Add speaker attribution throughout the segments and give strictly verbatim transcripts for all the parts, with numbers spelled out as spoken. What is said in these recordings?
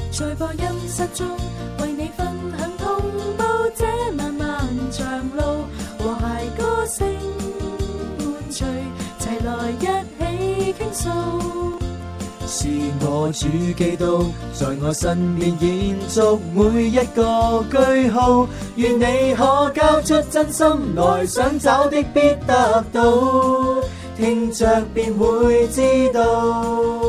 Speaker 1: 在播音室中為你分享同步這漫漫長路，和諧歌聲伴隨，齊來一起傾訴。
Speaker 2: 是我主基督在我身邊延續每一個句號，願你可交出真心來，想找的必得到，聽着便會知道。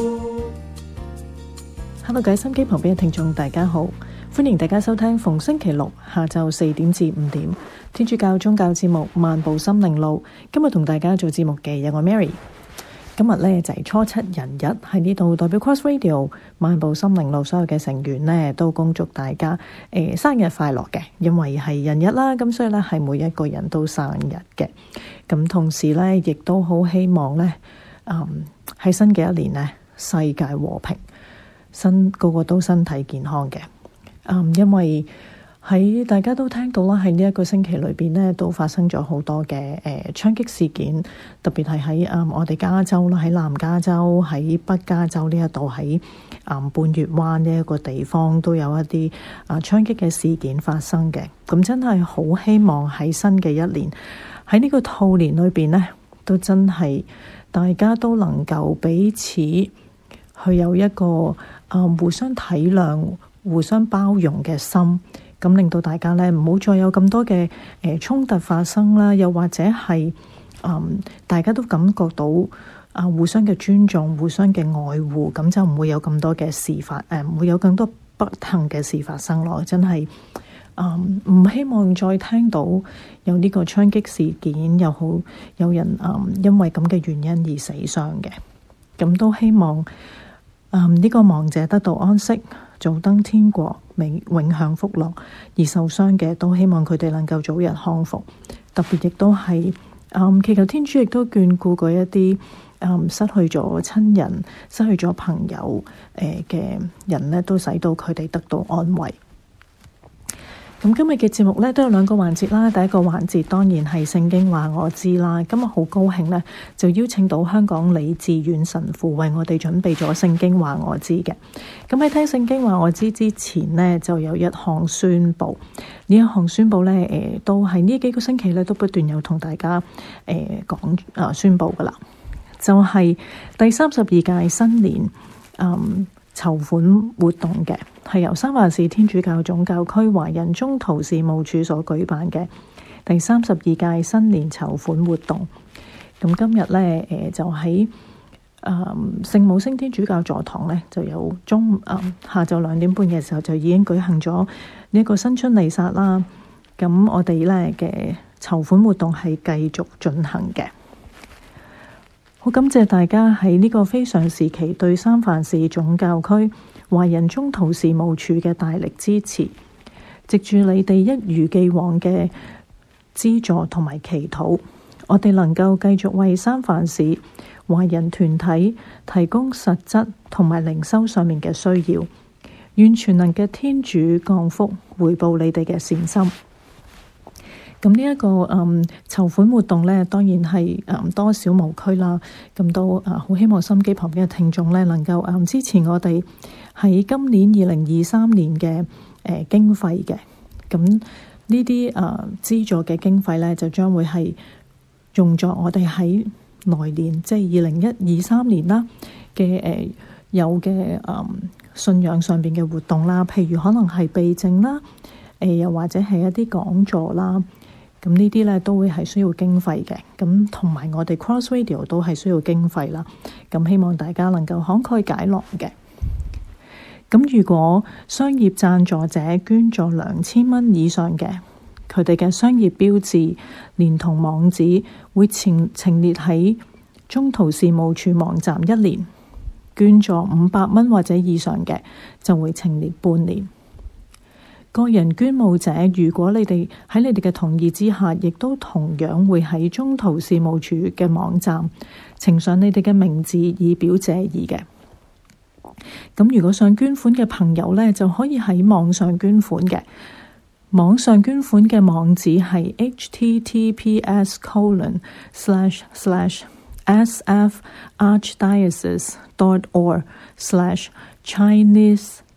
Speaker 3: Hello， 各位心機旁邊嘅聽眾大家好，歡迎大家收聽逢星期六下晝四點至五點天主教宗教節目漫步心靈路。今日同大家做節目嘅有我 Mary。今日呢就係、是、初七人日，喺呢度代表 Cross Radio 漫步心靈路所有嘅成員呢都恭祝大家誒、呃、生日快樂嘅，因為係人日啦，咁所以呢係每一個人都生日嘅。咁同時呢亦都好希望呢嗯喺新嘅一年呢世界和平，身個個都身體健康嘅。嗯，因為喺大家都聽到啦，喺呢一個星期裏邊呢，都發生咗好多嘅誒槍擊事件，特別係喺誒我哋加州啦，喺南加州、喺北加州呢一度，喺誒、嗯、半月灣呢一個地方都有一啲啊槍擊嘅事件發生嘅。咁真係好希望喺新嘅一年，喺呢個兔年裏邊呢，都真係大家都能夠彼此去有一個啊、嗯、互相體諒、互相包容嘅心。咁令到大家咧唔好再有咁多嘅誒衝突發生啦，又或者係嗯大家都感覺到啊互相嘅尊重、互相嘅愛護，咁就唔會有咁多嘅事發誒，唔會有更多不幸嘅事發生咯。真係嗯唔希望再聽到有呢個槍擊事件，又好有人嗯因為咁嘅原因而死傷嘅。咁都希望嗯呢個亡者得到安息，早登天國，永永享福樂，而受傷嘅都希望佢哋能夠早日康復。特別亦都係嗯祈求天主亦都眷顧嗰一啲嗯失去咗親人、失去咗朋友誒嘅人呢，都使到佢哋得到安慰。咁今日嘅節目呢都有兩個環節啦。第一個環節當然係聖經話我知啦。今日好高興呢，就邀請到香港李志遠神父為我哋準備咗聖經話我知嘅。咁喺聽聖經話我知之前呢，就有一項宣佈。呢一項宣佈呢，誒、呃、都係呢幾個星期呢都不斷有同大家誒講啊宣佈噶啦，就係、是、第三十二屆新年嗯籌款活動嘅，係由三藩市天主教總教區華人中途事務處所舉辦嘅第三十二屆新年籌款活動。咁今日呢，誒、呃、就喺誒聖母升天主教座堂呢，就有中誒、呃、下晝兩點半嘅時候就已經舉行咗呢一個新春彌撒啦。咁我哋呢嘅籌款活動係繼續進行嘅。好感謝大家喺呢個非常時期對三藩市總教區華人中途事務處嘅大力支持，藉住你哋一如既往嘅資助同埋祈禱，我哋能夠繼續為三藩市華人團體提供實質同埋靈修上面嘅需要，願全能嘅天主降福回報你哋嘅善心。咁呢一個嗯籌款活動呢，當然係嗯多少無拘啦。咁都啊好希望心機旁邊嘅聽眾呢，能夠嗯支持我哋喺今年二零二三年嘅誒、呃、經費嘅。咁呢啲啊資助嘅經費呢，就將會係用作我哋喺來年，即係二零一二三年啦嘅誒有嘅嗯信仰上邊嘅活動啦，譬如可能係避靜啦，誒、呃、又或者係一啲講座啦。咁呢啲咧都會係需要經費嘅，咁同埋我哋 Cross Radio 都係需要經費啦。咁希望大家能夠慷慨解囊嘅。咁如果商業贊助者捐助兩千蚊以上嘅，佢哋嘅商業標誌連同網址會呈呈列喺中途事務處網站一年。捐助五百蚊或者以上嘅就會呈列半年。個人捐募者，如果你哋喺你哋嘅同意之下，亦都同樣會喺中途事務處嘅網站呈上你哋嘅名字以表謝意嘅。咁如果想捐款嘅朋友呢，就可以喺網上捐款嘅。網上捐款嘅網址係 h t t p s colon slash slash s f archdiocese dot org slash chinese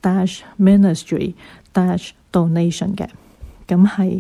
Speaker 3: dash ministry dash donation 嘅，咁係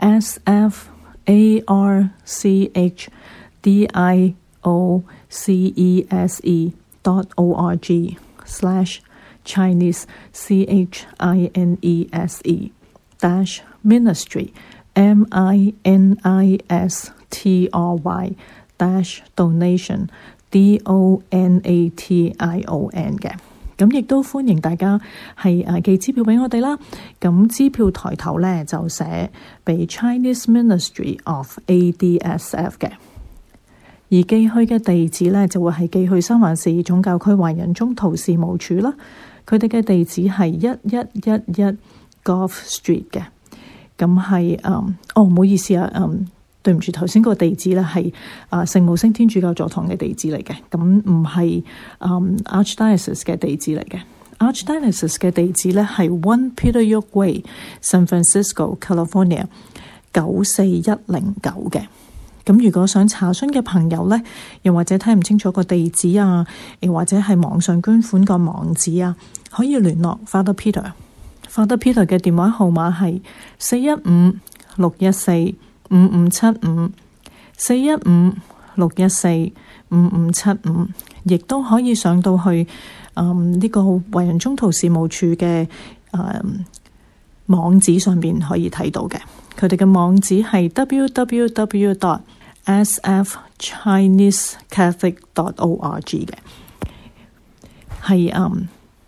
Speaker 3: s f a r c h d i o c e s e dot o r g slash Chinese c h i n e s e dash ministry m i n i s t r y dash donation d o n a t i o n 嘅。咁亦都歡迎大家係誒寄支票俾我哋啦。咁支票抬頭咧就寫俾 Chinese Ministry of A D S F 嘅，而寄去嘅地址咧就會係寄去三藩市總教區華人中途事務處啦。佢哋嘅地址係一一一一 Gulf Street 嘅。咁係誒，哦唔好意思啊，嗯。對唔住，頭先個地址咧係啊聖母升天主教座堂嘅地址嚟嘅，咁唔係嗯 Archdiocese 嘅地址嚟嘅。Archdiocese 嘅地址咧係 One Peter York Way, San Francisco, California 九四一零九嘅。咁如果想查詢嘅朋友咧，又或者睇唔清楚個地址啊，又或者係網上捐款個網址啊，可以聯絡 Father Peter。Father Peter 嘅電話號碼係四一五六一四五五七五四一五六一四五五七五，亦都可以上到去嗯呢、這個華人中途事務處嘅誒、嗯、網址上邊可以睇到嘅。佢哋嘅網址係 w w w dot s f chinese catholic dot org 嘅，係嗯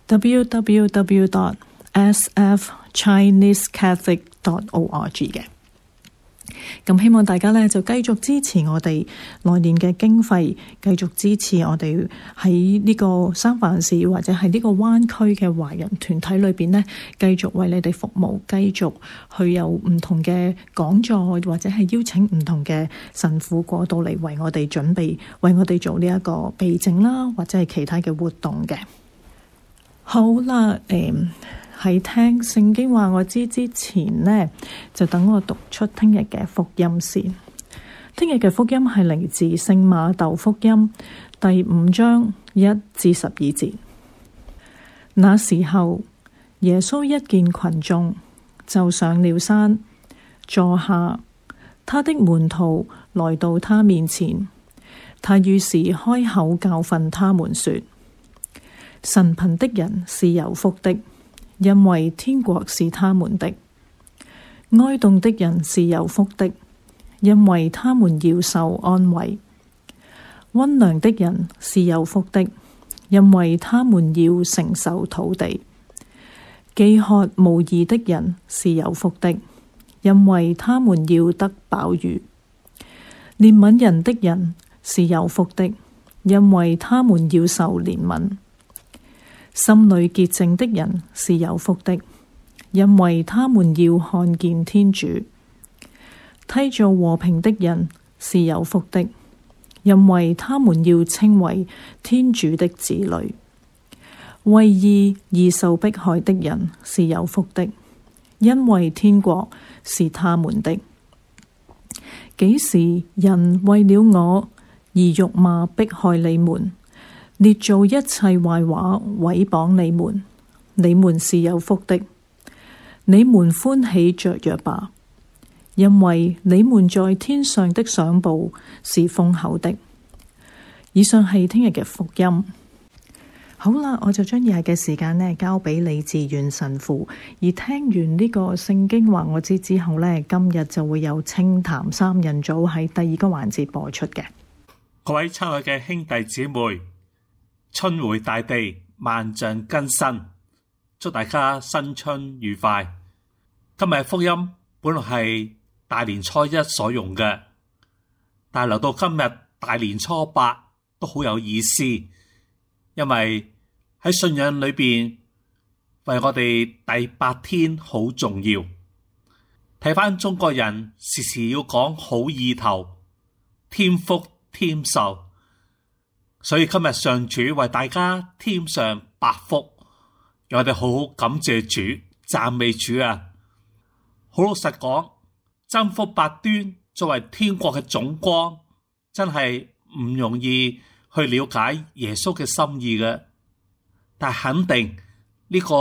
Speaker 3: w w w dot s f chinese catholic dot org 嘅。咁希望大家咧就繼續支持我哋來年嘅經費，繼續支持我哋喺呢個三藩市或者係呢個灣區嘅華人團體裏邊呢，繼續為你哋服務，繼續去有唔同嘅講座，或者係邀請唔同嘅神父過到嚟為我哋準備，為我哋做呢一個避靜啦，或者係其他嘅活動嘅。好啦，誒、嗯。喺聽聖經話我知之前呢，就等我讀出聽日嘅福音先。聽日嘅福音係嚟自聖馬竇福音第五章一至十二節。那時候，耶穌一見群眾，就上了山，坐下。他的門徒來到他面前，他於是開口教訓他們說：神貧的人是有福的，因為天國是他們的；哀慟的人是有福的，因為他們要受安慰；溫良的人是有福的，因為他們要承受土地；飢渴慕義的人是有福的，因為他們要得飽飫；憐憫人的人是有福的，因為他們要受憐憫。心裏潔淨的人是有福的，因為他們要看見天主；締造和平的人是有福的，因為他們要稱為天主的子女；為義而受迫害的人是有福的，因為天國是他們的。幾時人為了我而辱罵迫害你們，列造一切壞話毀謗你們，你們是有福的，你們歡喜雀躍吧，因為你們在天上的賞報是豐厚的。以上係聽日嘅福音。好啦，我就將以下嘅時間呢交俾李志遠神父，而聽完呢個聖經話我知之後呢，今日就會有清談三人組喺第二個環節播出嘅。
Speaker 4: 各位親愛嘅兄弟姊妹，春回大地，萬象更新，祝大家新春愉快。今日福音本來係大年初一所用嘅，但係留到今日大年初八都好有意思，因為喺信仰裏邊為我哋第八天好重要。睇返中國人時時要講好意頭，添福添壽，所以今日上主為大家添上百福，讓我哋好好感謝主，讚美主啊！好老實講，真福八端作為天國嘅總光，真係唔容易去了解耶穌嘅心意嘅。但肯定呢個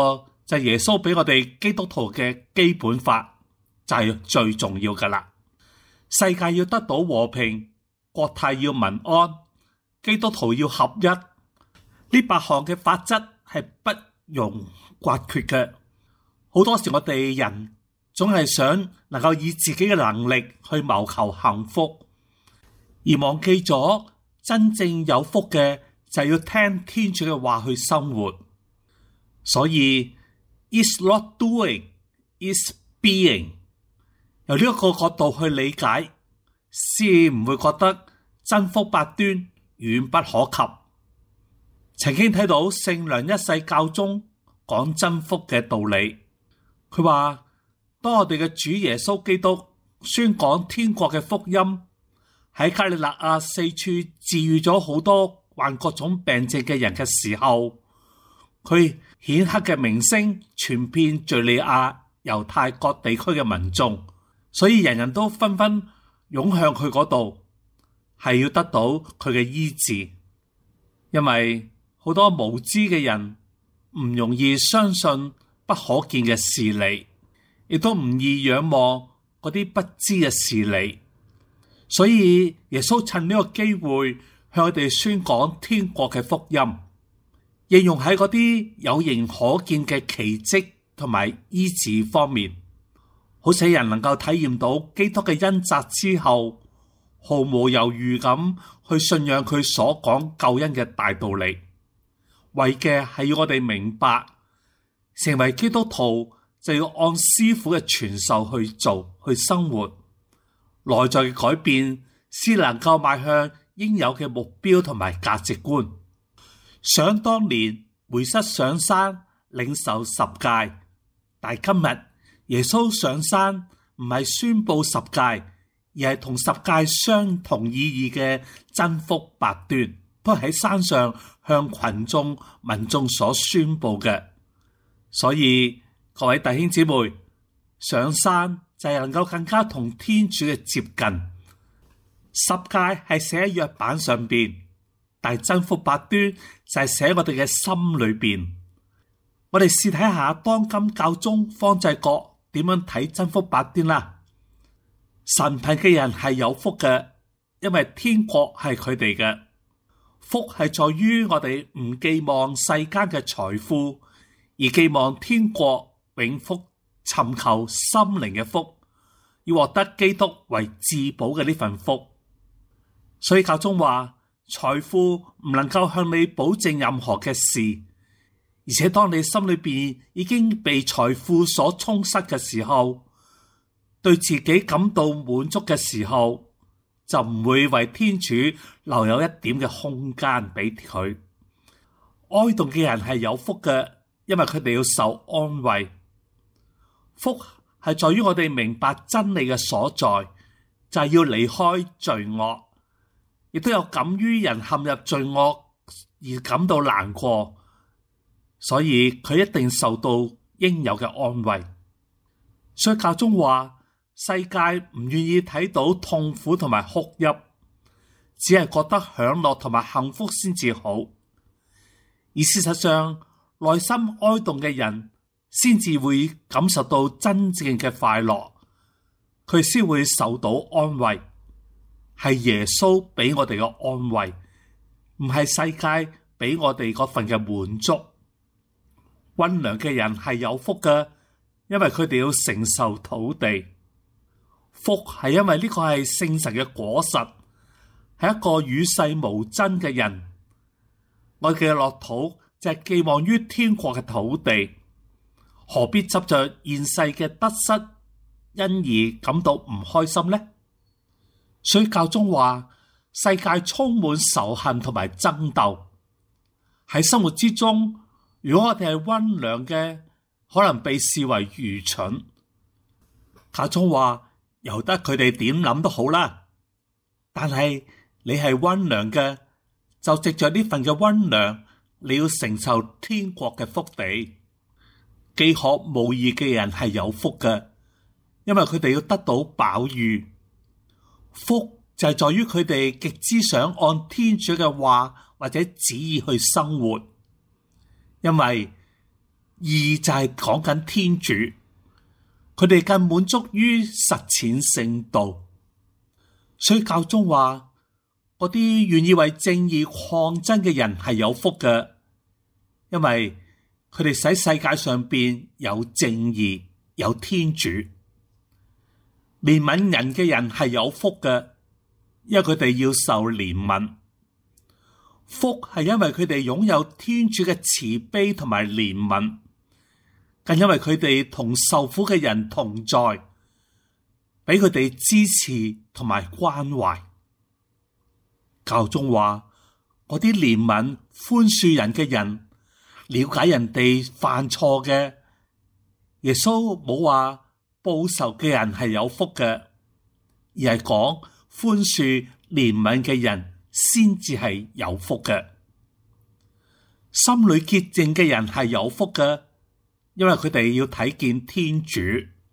Speaker 4: 就係耶穌俾我哋基督徒嘅基本法，就係最重要噶啦。世界要得到和平，國泰要民安，基督徒要合一，呢八項嘅法則係不容刮缺嘅。好多時我哋人總係想能夠以自己嘅能力去謀求幸福，而忘記咗真正有福嘅就係要聽天主嘅話去生活。所以 It's not doing, it's being。由呢一個角度去理解，先唔會覺得真福八端遠不可及。曾經睇到聖良一世教宗講真福嘅道理，佢話當我哋嘅主耶穌基督宣講天國嘅福音，喺加里肋亞四處治癒咗好多患各種病症嘅人嘅時候，佢顯赫嘅名聲傳遍敘利亞、猶太各地區嘅民眾，所以人人都紛紛湧向佢嗰度，係要得到佢嘅醫治。因為好多無知嘅人唔容易相信不可見嘅事理，亦都唔易仰望嗰啲不知嘅事理，所以耶穌趁呢個機會向佢哋宣講天國嘅福音，應用喺嗰啲有形可見嘅奇蹟同埋醫治方面，好使人能夠體驗到基督嘅恩澤之後，毫無猶豫咁去信仰佢所講救恩嘅大道理。為嘅係要我哋明白，成為基督徒就要按師傅嘅傳授去做去生活，內在嘅改變先能夠邁向應有嘅目標同埋價值觀。想當年梅瑟上山領受十誡，但係今日耶穌上山唔係宣布十誡，而係同十誡相同意義嘅真福八端，都喺山上向群眾民眾所宣布嘅。所以各位弟兄姊妹，上山就係能夠更加同天主嘅接近。十誡係寫喺約版上邊，但係真福八端就係寫喺我哋嘅心裏邊。我哋試睇下當今教宗方濟各點樣睇真福八端啦。神貧嘅人係有福嘅，因為天國係佢哋嘅。福係在於我哋唔寄望世間嘅財富，而寄望天國永福，尋求心靈嘅福，要獲得基督為至寶嘅呢份福。所以教宗話，財富唔能夠向你保證任何嘅事，而且當你心裏邊已經被財富所充塞嘅時候，對自己感到滿足嘅時候，就唔會為天主留有一點嘅空間俾佢。哀慟嘅人係有福嘅，因為佢哋要受安慰。福係在於我哋明白真理嘅所在，就係要離開罪惡，亦都有感於人陷入罪惡而感到難過，所以佢一定受到應有嘅安慰。所以教宗話，世界唔願意睇到痛苦同埋哭泣，只係覺得享樂同埋幸福先至好。而事實上，內心哀慟嘅人先至會感受到真正嘅快樂，佢先會受到安慰。係耶穌俾我哋嘅安慰，唔係世界俾我哋嗰份嘅滿足。溫良嘅人係有福嘅，因為佢哋要承受土地。福係因為呢個係聖神嘅果實，係一個與世無爭嘅人。我嘅樂土就係寄望於天國嘅土地，何必執着現世嘅得失，因而感到唔開心呢？所以教宗話，世界充滿仇恨同埋爭鬥。喺生活之中，如果我哋係溫良嘅，可能被視為愚蠢。教宗話，由得佢哋點諗都好啦，但係你係溫良嘅，就藉着呢份嘅溫良，你要承受天國嘅福地。飢渴慕義嘅人係有福嘅，因為佢哋要得到飽飫。福就係在於佢哋極之想按天主嘅話或者旨意去生活，因為義就係講緊天主，佢哋更滿足於實踐聖道。所以教宗話，嗰啲願意為正義抗爭嘅人係有福嘅，因為佢哋使世界上邊有正義，有天主。憐憫人嘅人係有福嘅，因為佢哋要受憐憫。福係因為佢哋擁有天主嘅慈悲同埋憐憫，更因為佢哋同受苦嘅人同在，俾佢哋支持同埋關懷。教宗話，嗰啲憐憫寬恕人嘅人，了解人哋犯錯嘅，耶穌冇話報仇嘅人係有福嘅，而係講寬恕憐憫嘅人先至係有福嘅。心裏潔淨嘅人係有福嘅，因為佢哋要睇見天主。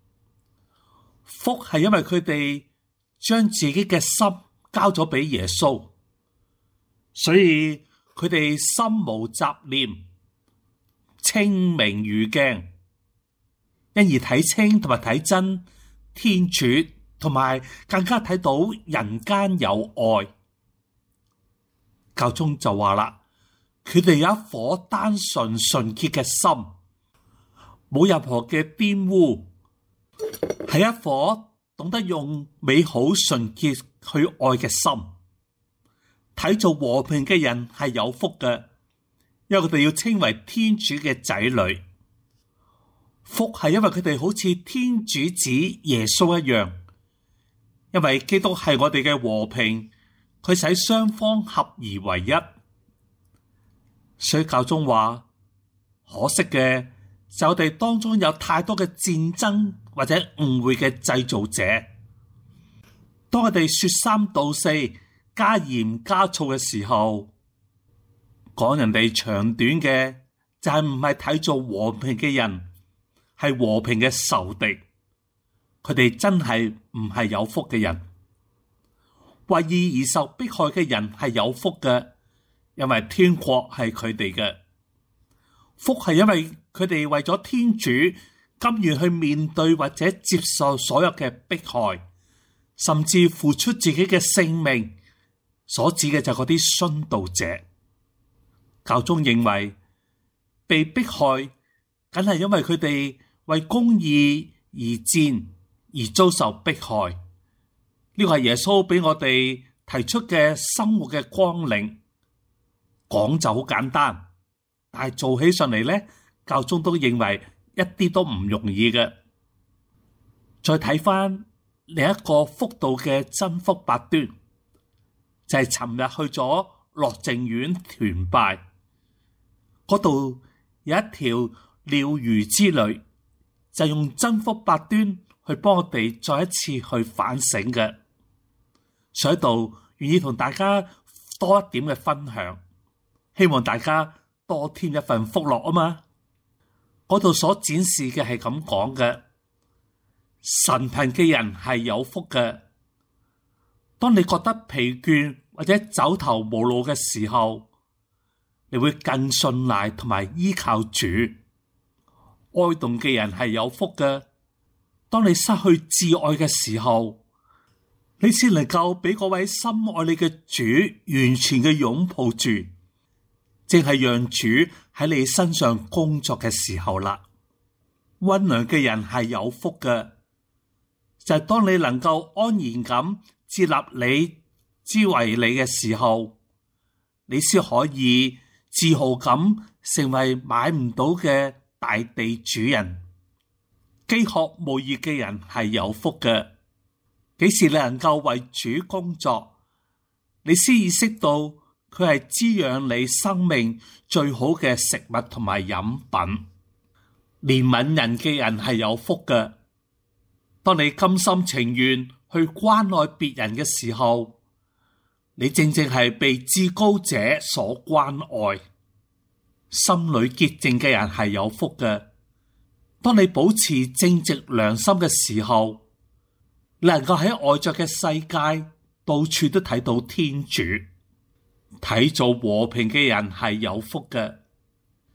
Speaker 4: 福係因為佢哋將自己嘅心交咗俾耶穌，所以佢哋心無雜念，清明如鏡，因而睇清同埋睇真天主，同埋更加睇到人間有愛。教宗就話啦，佢哋有一顆單純純潔嘅心，冇任何嘅玷污，係一顆懂得用美好純潔去愛嘅心。睇做和平嘅人係有福嘅，因為佢哋要稱為天主嘅仔女。福係因為佢哋好似天主子耶穌一樣，因為基督係我哋嘅和平，佢使雙方合而為一。所以教宗話，可惜嘅就我哋當中有太多嘅戰爭或者誤會嘅製造者，當我哋說三道四，加鹽加醋嘅時候，講人哋長短嘅就係唔係睇做和平嘅人，係和平嘅仇敵。佢哋真係唔係有福嘅人。為義而受迫害嘅人係有福嘅，因為天國係佢哋嘅。福係因為佢哋為咗天主甘願去面對或者接受所有嘅迫害，甚至付出自己嘅性命。所指嘅就係嗰啲殉道者。教宗認為被迫害梗係因為佢哋為公義而戰而遭受迫害。呢個係耶穌俾我哋提出嘅生活嘅綱領。講就好簡單，但係做起上嚟咧，教宗都認為一啲都唔容易嘅。再睇翻另一個福道嘅真福八端，就係尋日去咗樂靜院團拜，嗰度有一條療癒之旅，就用真福八端去幫我哋再一次去反省嘅。所以喺度願意同大家多一點嘅分享，希望大家多添一份福樂啊嘛。嗰度所展示嘅係咁講嘅，神貧嘅人係有福嘅。當你覺得疲倦或者走投無路嘅時候，你會更信賴同埋依靠主。哀慟嘅人係有福嘅。當你失去至愛嘅時候，你先能夠俾嗰位深愛你嘅主完全嘅擁抱住，正係讓主喺你身上工作嘅時候啦。溫良嘅人係有福嘅，就係當你能夠安然咁接納你之為你嘅時候，你先可以自豪咁成為買唔到嘅大地主人。飢渴慕義嘅人係有福嘅。幾時你能夠為主工作，你先意識到佢係滋養你生命最好嘅食物同埋飲品。憐憫人嘅人係有福嘅。當你甘心情願去關愛別人嘅時候，你正正係被至高者所關愛。心裏潔淨嘅人係有福嘅。當你保持正直良心嘅時候，你能夠喺外在嘅世界到處都睇到天主。睇做和平嘅人係有福嘅。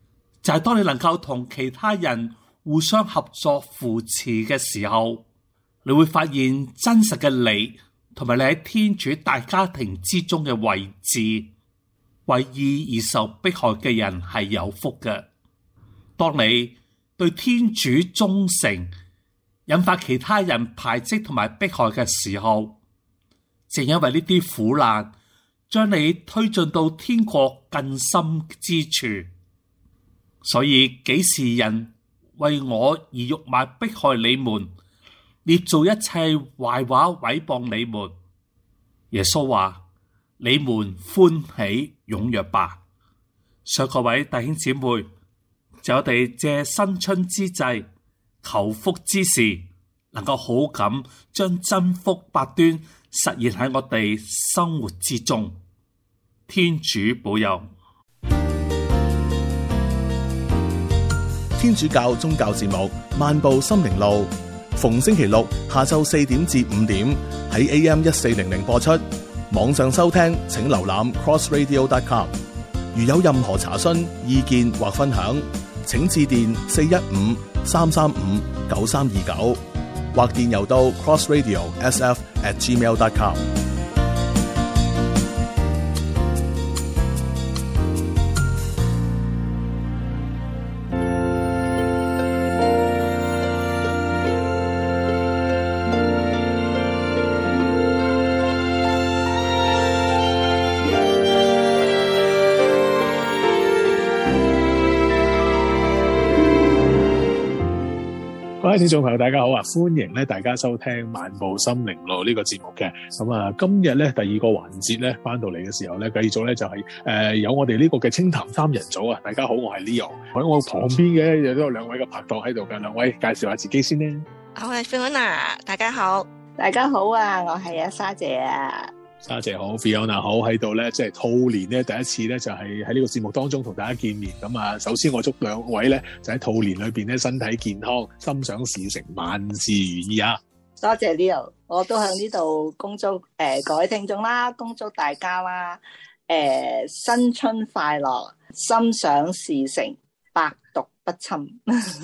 Speaker 4: 就係當你能夠同其他人互相合作扶持嘅時候，你會發現真實嘅你同埋你喺天主大家庭之中嘅位置。為義而受迫害嘅人係有福嘅。當你對天主忠誠，引發其他人排斥同埋迫害嘅時候，正因為呢啲苦難，將你推進到天國更深之處。所以幾時人為我而辱罵迫害你們，捏造一切壞話毀謗你們，耶穌話：你們歡喜踴躍吧。所以各位弟兄姊妹，就我哋借新春之際，求福之時，能夠好咁將真福八端實現喺我哋生活之中。天主保佑。
Speaker 5: 天主教宗教節目《漫步心靈路》，逢星期六下晝四點至五點喺 A M 一四零零播出。網上收聽請瀏覽 cross radio dot com。 如有任何查詢、意見或分享，請致電四一五三三五九三二九或電郵到 crossradio s f at gmail dot com。
Speaker 6: 各位聽眾朋友大家好啊，歡迎咧大家收聽漫步心靈路呢個節目嘅。咁啊，今日咧第二個環節咧翻到嚟嘅時候咧，繼續咧就係、是、誒、呃、有我哋呢個嘅清談三人組啊。大家好，我係 Leo， 喺我旁邊嘅又都有兩位嘅拍檔喺度嘅，兩位介紹下自己先咧。
Speaker 7: 我係 Fiona， 大家好。
Speaker 8: 大家好啊，我係阿沙姐啊。
Speaker 6: 沙姐好 ，Fiona 好，喺度咧，即係兔年咧第一次咧就係喺呢個節目當中同大家見面。咁啊，首先我祝兩位咧就喺兔年裏邊咧身體健康，心想事成，萬事如意啊！
Speaker 8: 多謝 Leo， 我都喺呢度恭祝誒、呃、各位聽眾啦，恭祝大家啦，誒、呃、新春快樂，心想事成，百毒不侵。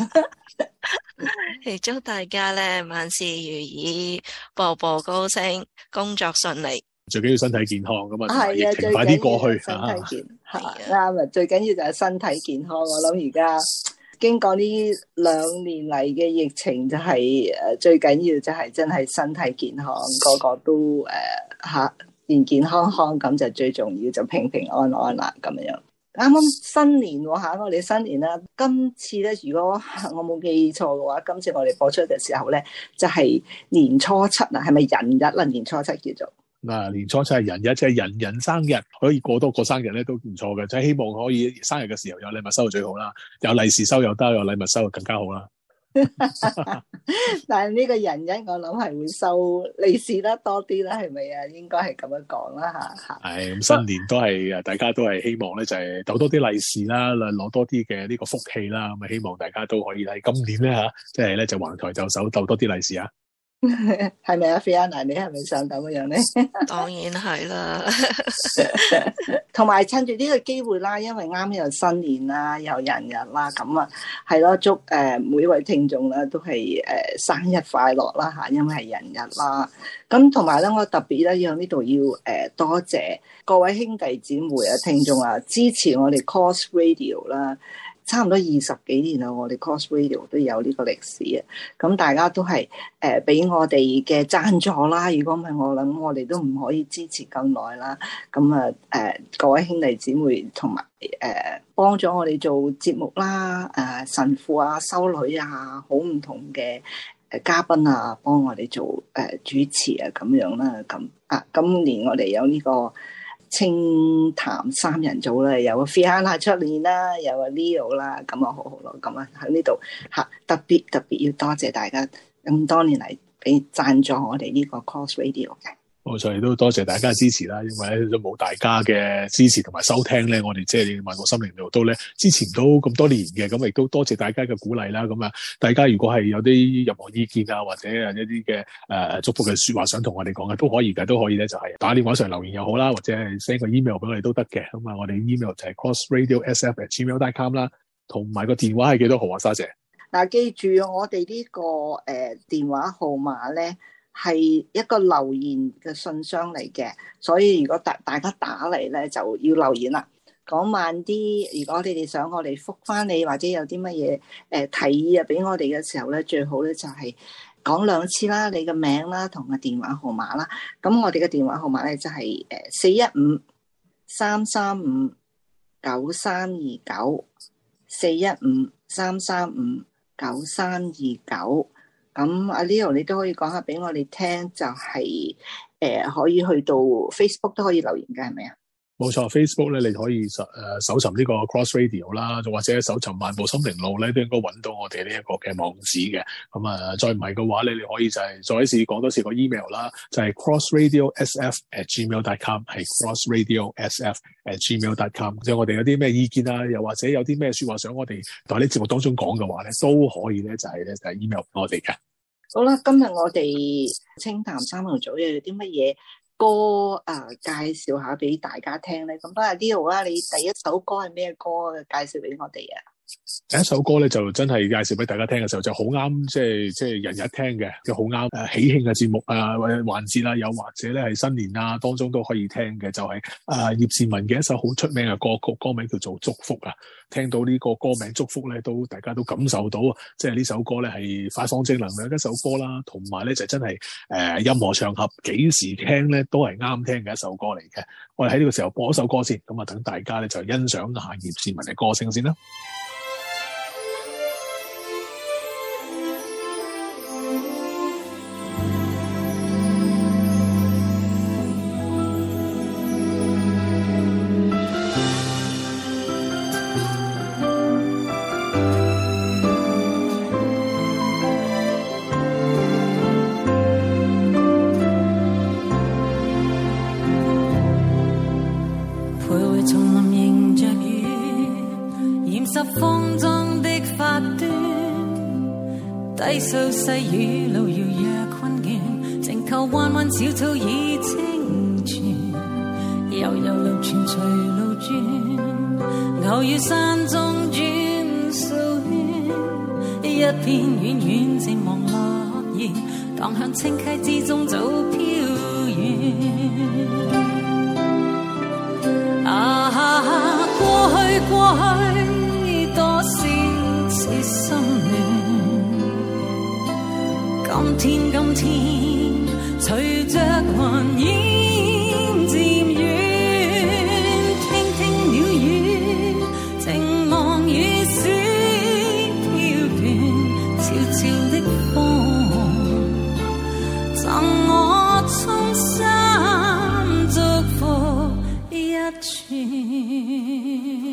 Speaker 7: 亦祝大家咧萬事如意，步步高升，工作順利。
Speaker 6: 最緊要身體健康咁啊，疫情
Speaker 8: 係啊，
Speaker 6: 快啲過去。
Speaker 8: 身體健康啱啊，最緊要就係身體健康。我諗而家經過呢兩年嚟嘅疫情，就係誒最緊要就係真係身體健康，個個都誒吓健健康康，咁就最重要，就平平安安啦咁樣。啱啱新年吓，我哋新年啦，今次咧如果我冇記錯嘅話，今次我哋播出嘅時候咧，就係年初七啊，係咪人日啦？年初七叫做。
Speaker 6: 嗱，年初七係人日，即係人人生日，可以過多個生日咧都唔錯嘅，即係希望可以生日嘅時候有禮物收就最好啦，有利是收又得，有禮物收就更加好啦。
Speaker 8: 但係呢個人日我諗係會收利是得多啲啦，係咪啊？應該係咁樣講啦吓。
Speaker 6: 係咁，新年都係大家都係希望咧，就係逗多啲利是啦，攞多啲嘅呢個福氣啦。咁啊，希望大家都可以喺今年咧吓，即係咧就橫抬就手，逗多啲利是啊！
Speaker 8: 係咪啊 Fiona 你係咪想咁樣咧？
Speaker 7: 當然係啦。
Speaker 8: 同埋趁住呢個機會啦，因為啱又新年啦，又人日啦，咁啊係咯，祝誒、呃、每位聽眾咧都係誒、呃、生日快樂啦吓，因為係人日啦。咁同埋咧，我特別咧要呢度要誒、呃、多謝各位兄弟姊妹啊、聽眾啊，支持我哋 Cross Radio 啦。差唔多二十幾年啦，我哋 Cross Radio 都有呢個歷史啊！咁大家都係誒俾我哋嘅贊助啦。如果唔係，我諗我哋都唔可以支持咁耐啦。咁啊誒，各位兄弟姊妹同埋誒幫咗我哋做節目啦，誒、呃、神父啊、修女啊，好唔同嘅誒嘉賓啊，幫我哋做誒、呃、主持啊咁樣啦。咁啊，今年我哋有呢、這個清談三人組啦，有個 Fiona 出年啦，有個 Leo 啦，咁啊好好咯，咁啊喺呢度吓特別特別要多謝大家咁多年嚟俾贊助我哋呢個 Cross Radio 嘅。
Speaker 6: 冇錯，亦都多謝大家嘅支持啦，因為咧都冇大家嘅支持同埋收聽咧，我哋即係漫步心靈路都咧支持唔到咁多年嘅，咁亦都多謝大家嘅鼓勵啦。咁啊，大家如果係有啲任何意見啊，或者係一啲嘅誒祝福嘅說話想同我哋講嘅，都可以嘅，都可以咧，就係打電話上留言又好啦，或者係 send 個 email 俾我哋都得嘅。咁啊，我哋 email 就係 crossradio s f at gmail dot com 啦。 同埋個電話係幾多號啊？沙姐。
Speaker 8: 嗱，記住我哋呢、這個誒、呃、電話號碼咧係一個留言嘅信箱嚟嘅，所以如果大大家打嚟咧就要留言啦，講慢啲。如果你哋想我哋覆返你，或者有啲乜嘢誒提議啊俾我哋嘅時候咧，最好咧就係講兩次啦，你嘅名啦同個電話號碼啦。咁我哋嘅電話號碼咧就係誒四一五三三五九三二九，四一五三三五九三二九。咁阿 Leo 你都可以講下俾我哋聽，就係、是、誒、呃、可以去到 Facebook 都可以留言嘅，係咪啊？
Speaker 6: 冇錯 ，Facebook 咧你可以搜誒搜尋呢個 Cross Radio 啦，或者搜尋漫步心靈路咧，都應該揾到我哋呢一個嘅網址嘅。咁啊，再唔係嘅話咧，你可以就係再一次講多次個 email 啦，就係 crossradiosf at gmail dot com， 係 crossradiosf at gmail dot com。即係我哋有啲咩意見啊，又或者有啲咩說話想我哋喺呢節目當中講嘅話咧，都可以咧就係咧就係 email 我哋嘅。
Speaker 8: 好啦，今日我哋清談三人組又有啲乜嘢歌啊、呃、介紹下俾大家聽咧？咁不如 Leo 啊，你第一首歌係咩歌介紹俾我哋啊？
Speaker 6: 第一首歌咧就真係介紹俾大家聽嘅時候就好啱，即係即係人日聽嘅，就好啱誒喜慶嘅節目啊或者環節啦，又或者咧係新年啊當中都可以聽嘅，就係誒葉倩文嘅一首好出名嘅歌曲，歌名叫做祝福啊。聽到呢個歌名祝福咧，都大家都感受到，即係呢首歌咧係發放正能量嘅一首歌啦，同埋咧就真係誒、呃、任何場合幾時聽咧都係啱聽嘅一首歌嚟嘅。我哋喺呢個時候播一首歌先，咁啊等大家咧就欣賞下葉倩文嘅歌聲先啦。
Speaker 1: 低數細雨路遙若困倦，靜靠彎彎小草已清泉，悠悠流泉隨路轉，偶遇山中轉數圈，一片遠遠漸望落葉，蕩向清溪之中早飄遠。啊，過去過去多少次心亂，今天今天隨着雲煙漸遠，聽聽鳥語，靜望雨絲飄斷，悄悄的風贈我衷心祝福一串。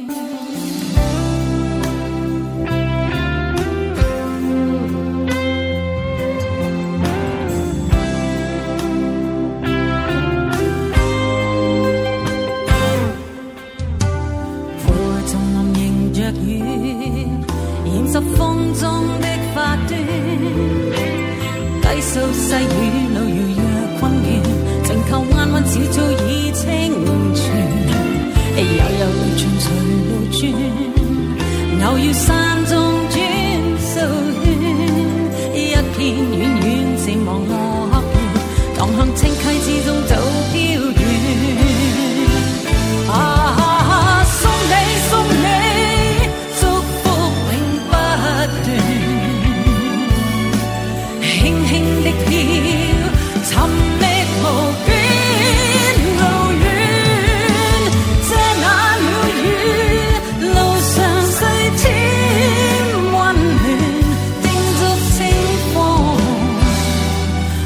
Speaker 1: 十風中的發端，低數細雨路遙若困倦，靜靠彎彎小草已清泉，悠悠流泉隨路轉，偶遇山中轉數圈，一片遠遠漸望落葉，蕩向清溪之中早飄遠。啊，送你送你輕輕的飄，尋覓無邊路遠，這那鳥語，路上細添溫暖，叮囑清風，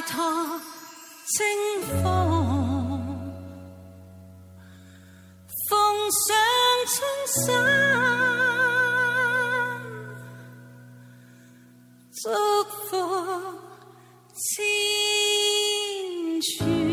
Speaker 1: 託清風，奉上春山，祝福千串。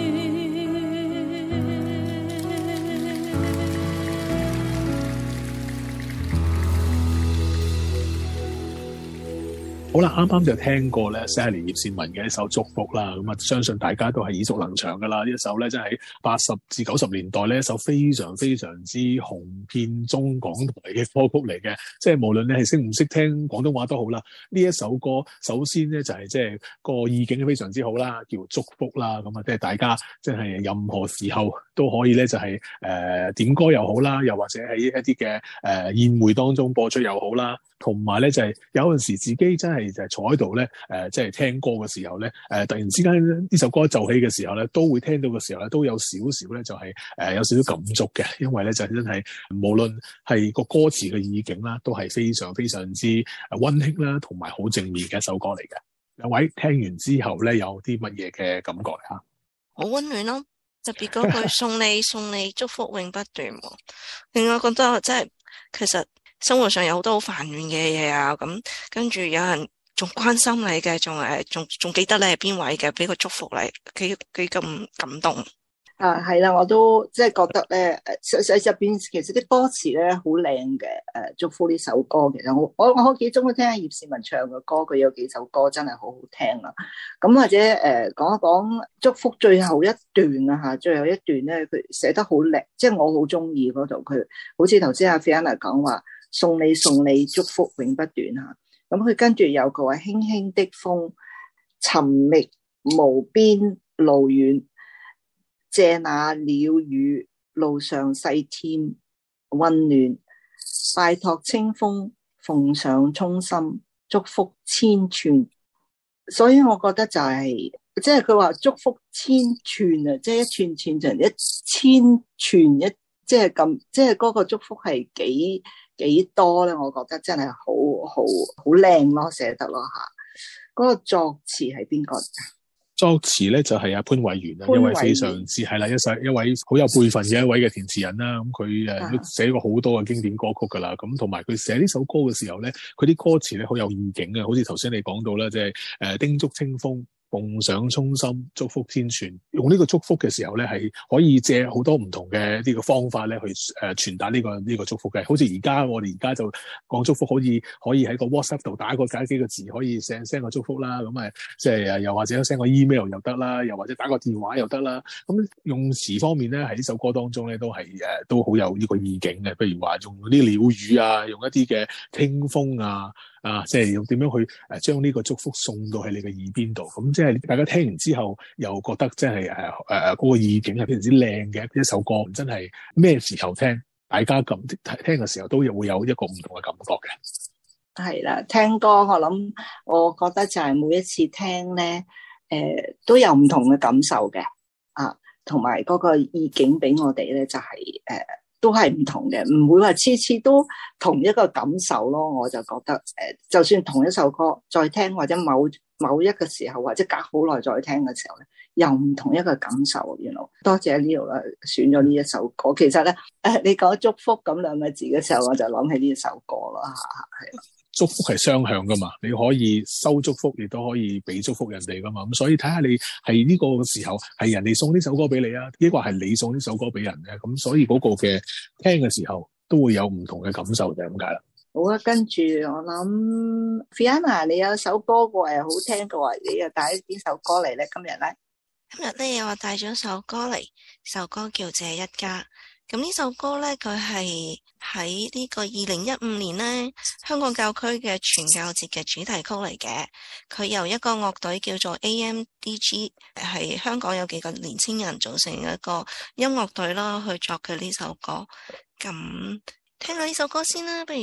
Speaker 6: 好啦，啱啱就聽過咧 Sally 葉倩文嘅一首祝福啦，咁啊相信大家都係耳熟能詳噶啦。呢一首咧真係八十至九十年代呢一首非常非常之紅遍中港台嘅歌曲嚟嘅，即係無論你係識唔識聽廣東話都好啦。呢一首歌首先咧就係即係個意境非常之好啦，叫祝福啦，咁啊即係大家即係任何時候都可以咧就係、是、誒、呃、點歌又好啦，又或者喺一啲嘅誒宴會當中播出又好啦。同埋咧就係有陣時自己真係就係坐喺度咧，誒即係聽歌嘅時候咧，誒、呃、突然之間呢首歌奏起嘅時候咧，都會聽到嘅時候咧，都有少少咧就係、是、誒、呃、有少少感觸嘅，因為咧就真係無論係個歌詞嘅意境啦，都係非常非常之誒溫馨啦，同埋好正面嘅一首歌嚟嘅。兩位聽完之後咧，有啲乜嘢嘅感覺啊？
Speaker 7: 好溫暖咯，特別嗰句送你送你祝福永不斷，令我覺得真係其實。生活上有好多好煩亂嘅嘢啊，咁跟住有人仲關心你嘅，仲誒仲仲記得你係邊位嘅，俾個祝福你，幾幾咁感動
Speaker 8: 啊！係啦，我都即係覺得咧，誒實實入邊其實啲歌詞咧好靚嘅，誒、呃、祝福呢首歌其實我我我好幾中意聽葉倩文唱嘅歌，佢有幾首歌真係好好聽啦。咁或者誒、呃、講一講祝福最後一段啊嚇，最後一段咧佢寫得好靚，即係我好中意嗰度，佢好似頭先阿 Fiona 講話。送你送你祝福永不斷嚇，咁佢跟住有個話輕輕的風，尋覓無邊路遠，借那鳥語路上細添溫暖，拜託清風奉上衷心祝福千串，所以我覺得就係即係佢話祝福千串啊，即係一串串成一千串一，即係咁，即係嗰個祝福係幾幾多咧？我覺得真係好好好靚咯，寫得咯吓。嗰、那個作詞係邊個？
Speaker 6: 作詞咧就係阿潘偉源啊，一位非常之係啦，一世一位好有輩分嘅一位嘅填詞人啦。咁佢誒都寫過好多嘅經典歌曲噶啦。咁同埋佢寫呢首歌嘅時候咧，佢啲歌詞咧好有意境啊，好似頭先你講到啦，即係誒叮囑清風。奉上衷心祝福千串，用呢個祝福嘅時候咧，係可以借好多唔同嘅呢個方法咧，去誒傳達呢個呢個祝福嘅。好似而家我哋而家就講祝福，可以可以喺個 WhatsApp 度打個打幾個字，可以 send send 個祝福啦。咁誒，即係又或者 send 個 email 又得啦，又或者打個電話又得啦。咁用詞方面咧，喺呢首歌當中咧，都係誒都好有呢個意境嘅。譬如話用啲鳥語啊，用一啲嘅清風啊。啊，即係要點樣去誒將呢個祝福送到喺你嘅耳邊度，咁即係大家聽完之後又覺得即係誒誒嗰個意境係非常之靚嘅一首歌，真係咩時候聽，大家咁聽嘅時候都會有一個唔同嘅感覺嘅。
Speaker 8: 係啦，聽歌我諗，我覺得就係每一次聽咧，誒、呃、都有唔同嘅感受嘅，啊，同埋嗰個意境俾我哋咧就係、是、誒。呃都係唔同嘅，唔會話次次都同一個感受咯。我就覺得，誒，就算同一首歌再聽，或者某某一個時候，或者隔好耐再聽嘅時候咧，又唔同一個感受。原來多謝呢度啦，選咗呢一首歌。其實咧，誒，你講祝福咁兩個字嘅時候，我就諗起呢一首歌咯，吓係。
Speaker 6: 祝福係雙向噶嘛，你可以收祝福，亦都可以俾祝福人哋噶嘛。咁所以睇下你係呢個時候係人哋送呢首歌俾你啊，抑或係你送呢首歌俾人咧。咁所以嗰個嘅聽嘅時候都會有唔同嘅感受，就係咁解啦。
Speaker 8: 好啊，跟住我諗 Fiona 你有首歌過係好聽嘅話，你又帶邊首歌嚟咧？今日咧，
Speaker 7: 今日咧我帶咗首歌嚟，首歌叫《這一家》。咁呢首歌咧，佢係喺呢個二零一五年咧香港教區嘅傳教節嘅主題曲嚟嘅。佢由一個樂隊叫做 A M D G， 係香港有幾個年輕人組成一個音樂隊啦，去作嘅呢首歌。咁聽下呢首歌先啦，不如。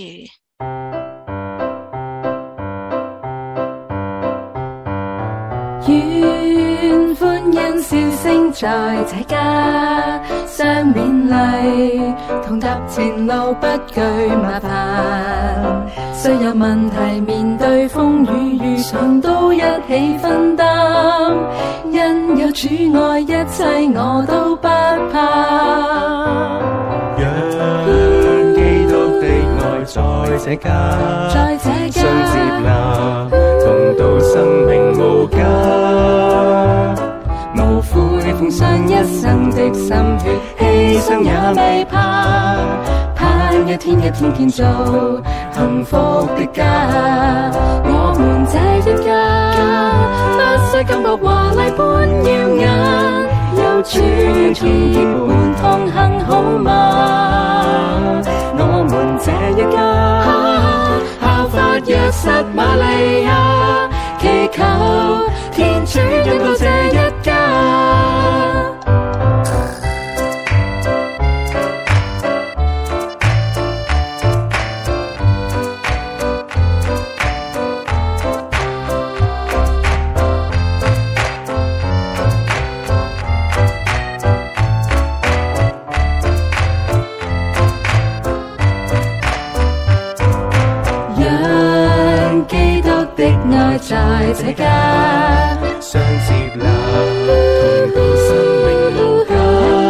Speaker 1: 願歡欣笑聲在這家相勉勵， 同踏前路不懼麻煩，雖有問題面對風雨遇上都一起分擔，因有主愛一切我都不怕。
Speaker 2: 讓基督的愛在這家，
Speaker 1: 在這家
Speaker 2: 相接納，同度生命無價，
Speaker 1: 無悔奉上一生的心血，犧牲也未怕，盼一天一天建造幸福的家。我們這一家，不需金箔華麗般耀眼，有主結伴同行好嗎？我們這一家，效法約瑟瑪利亞，祈求天主引導這一家。愛在這家，
Speaker 2: 相接納，同度生命無價，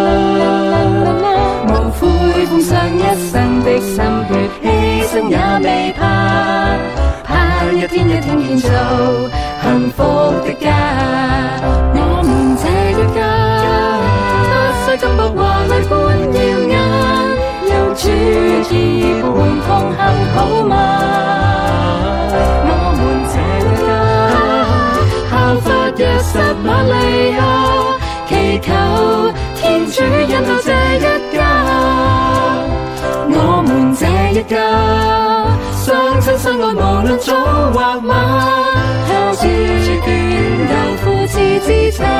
Speaker 1: 無悔奉上一生的心血，犧牲也未怕，盼一天一天建造幸福的家。我們這一家，不需金箔華麗般耀眼，有主結伴同行好嗎？效法約瑟瑪利亞，祈求天主引導這一家。我們這一家，相親相愛無論早或晚，靠主眷佑父慈之差。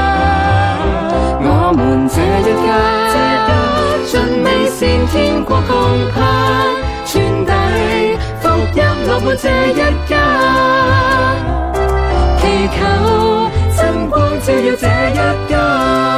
Speaker 1: 我們這一家，盡美善天國共盼，傳遞福音落滿這一家。祈求真光照耀這一家。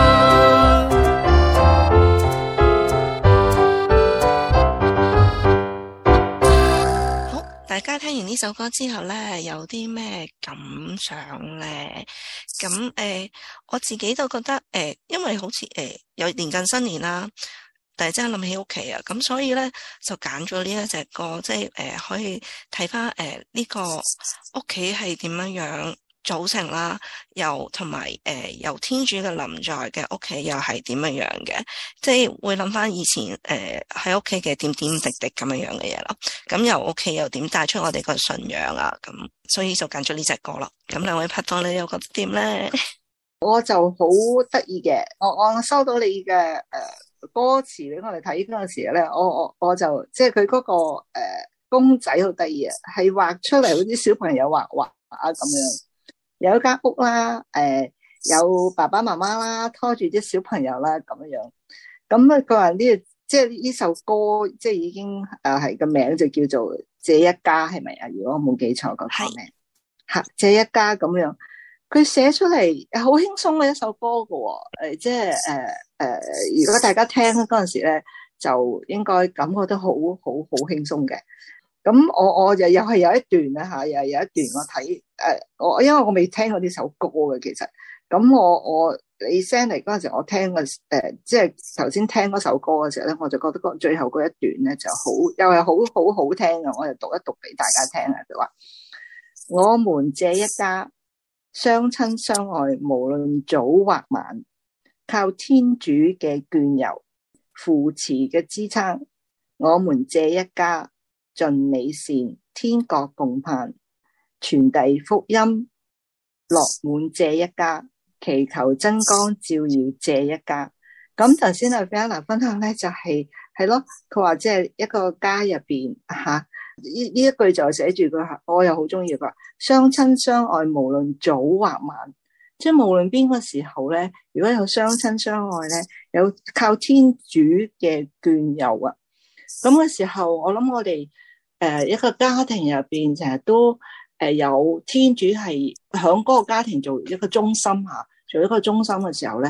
Speaker 7: 好，大家聽完呢首歌之後呢，有啲咩感想呢？咁誒、呃，我自己都覺得誒、呃，因為好似誒、呃、有年近新年啦，但係真係諗起屋企啊，咁所以呢，就揀咗呢一隻歌，即係誒、呃、可以睇翻誒呢個屋企係點樣樣組成啦，又同埋誒由天主嘅臨在嘅屋企又係點樣樣嘅，即係會諗翻以前誒喺屋企嘅點點滴滴咁樣樣嘅嘢咯。咁由屋企又點帶出我哋個信仰啊？咁所以就揀咗呢隻歌咯。咁兩位拍檔，你又覺得點咧？
Speaker 8: 我就好得意嘅，我我收到你嘅誒、呃、歌詞俾我哋睇嗰陣時咧，我我我就即係佢嗰個誒、呃、公仔好得意啊，係畫出嚟好似小朋友畫畫啊咁樣。有一間屋啦，誒、呃，有爸爸媽媽啦，拖住啲小朋友啦，咁樣樣。咁啊，佢話呢，即係呢首歌，即係已經誒係個名就叫做《這一家》，係咪啊？如果我冇記錯個名，吓《這一家》咁樣，佢寫出嚟好輕鬆嘅一首歌噶、哦，誒、呃，即係誒誒，如果大家聽嗰陣時咧，就應該感覺到好好好輕鬆嘅。咁我我又又係有一段啦吓，又有一段我睇誒，我、呃、因為我未聽過呢首歌嘅，其實咁我我你 send 嚟嗰陣時，我聽嘅誒、呃，即係頭先聽嗰首歌嘅時候咧，我就覺得最後嗰一段咧就好，又係好好好聽嘅，我就讀一讀俾大家聽啊。佢話：我們這一家相親相愛，無論早或晚，靠天主嘅眷佑扶持嘅支撐，我們這一家。盡美善，天國共盼，傳遞福音，落滿這一家，祈求真光照耀這一家。咁頭先阿 Fiona 分享咧，就係係咯，佢話即係一個家入邊吓，呢呢一句就寫住佢，我又好中意佢，相親相愛，無論早或晚，即係無論邊個時候咧，如果有相親相愛咧，有靠天主嘅眷佑啊，咁嘅時候，我諗我哋。誒、呃，一個家庭入邊成日都誒有天主係響嗰個家庭做一個中心吓，做一個中心嘅時候咧，